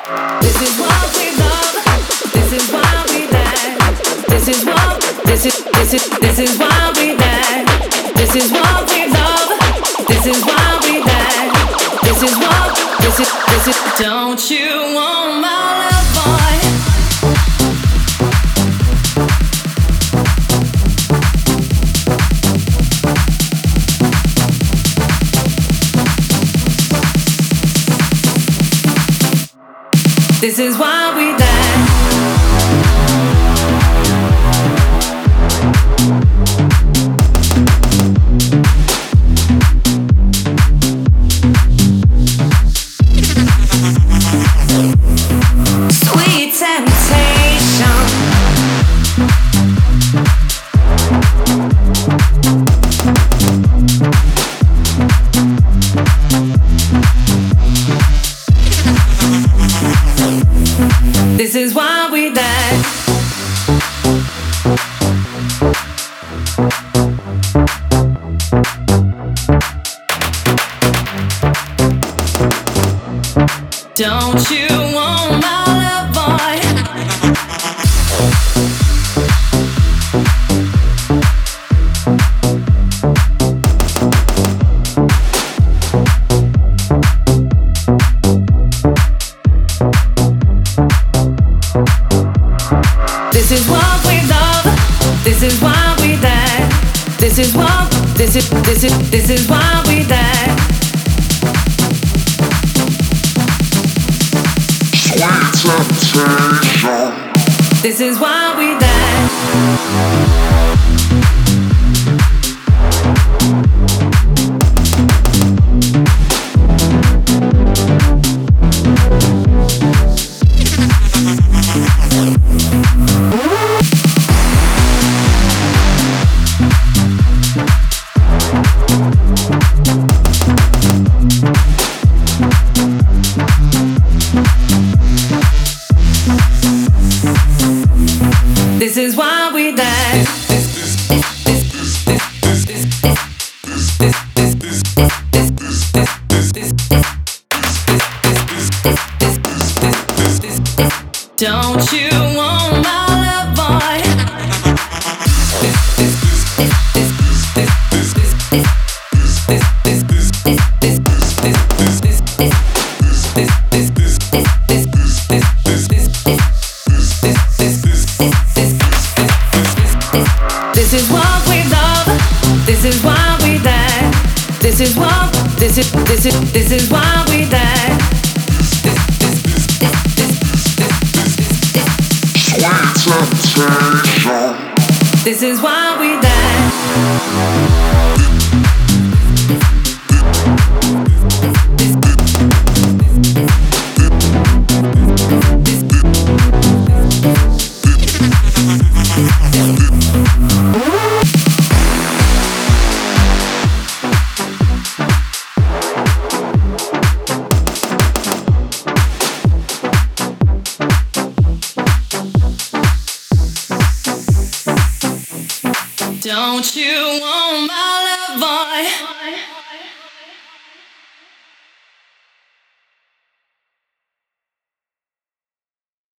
This is what we love. This is why we dance. This is what. This is why we dance. This is what we love. This is why we dance. This is what. This is. Don't you want my love, boy? This is why we dance. Sweet temptation. This is why we dance. Don't you want my love, boy? This is what we love. This is why we dance. This is what. This is why we dance. This is why we dance. This is why we dance. Don't you want my love, boy? This is what we love. This is why we dance. This is what. This is why we dance. This is why we dance. Don't you want my love, boy?